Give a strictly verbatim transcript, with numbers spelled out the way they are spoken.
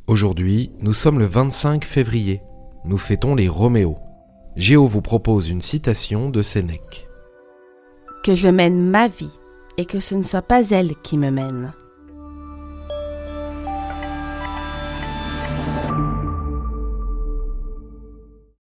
Aujourd'hui, nous sommes le vingt-cinq février. Nous fêtons les Roméos. Géo vous propose une citation de Sénèque. Que je mène ma vie et que ce ne soit pas elle qui me mène.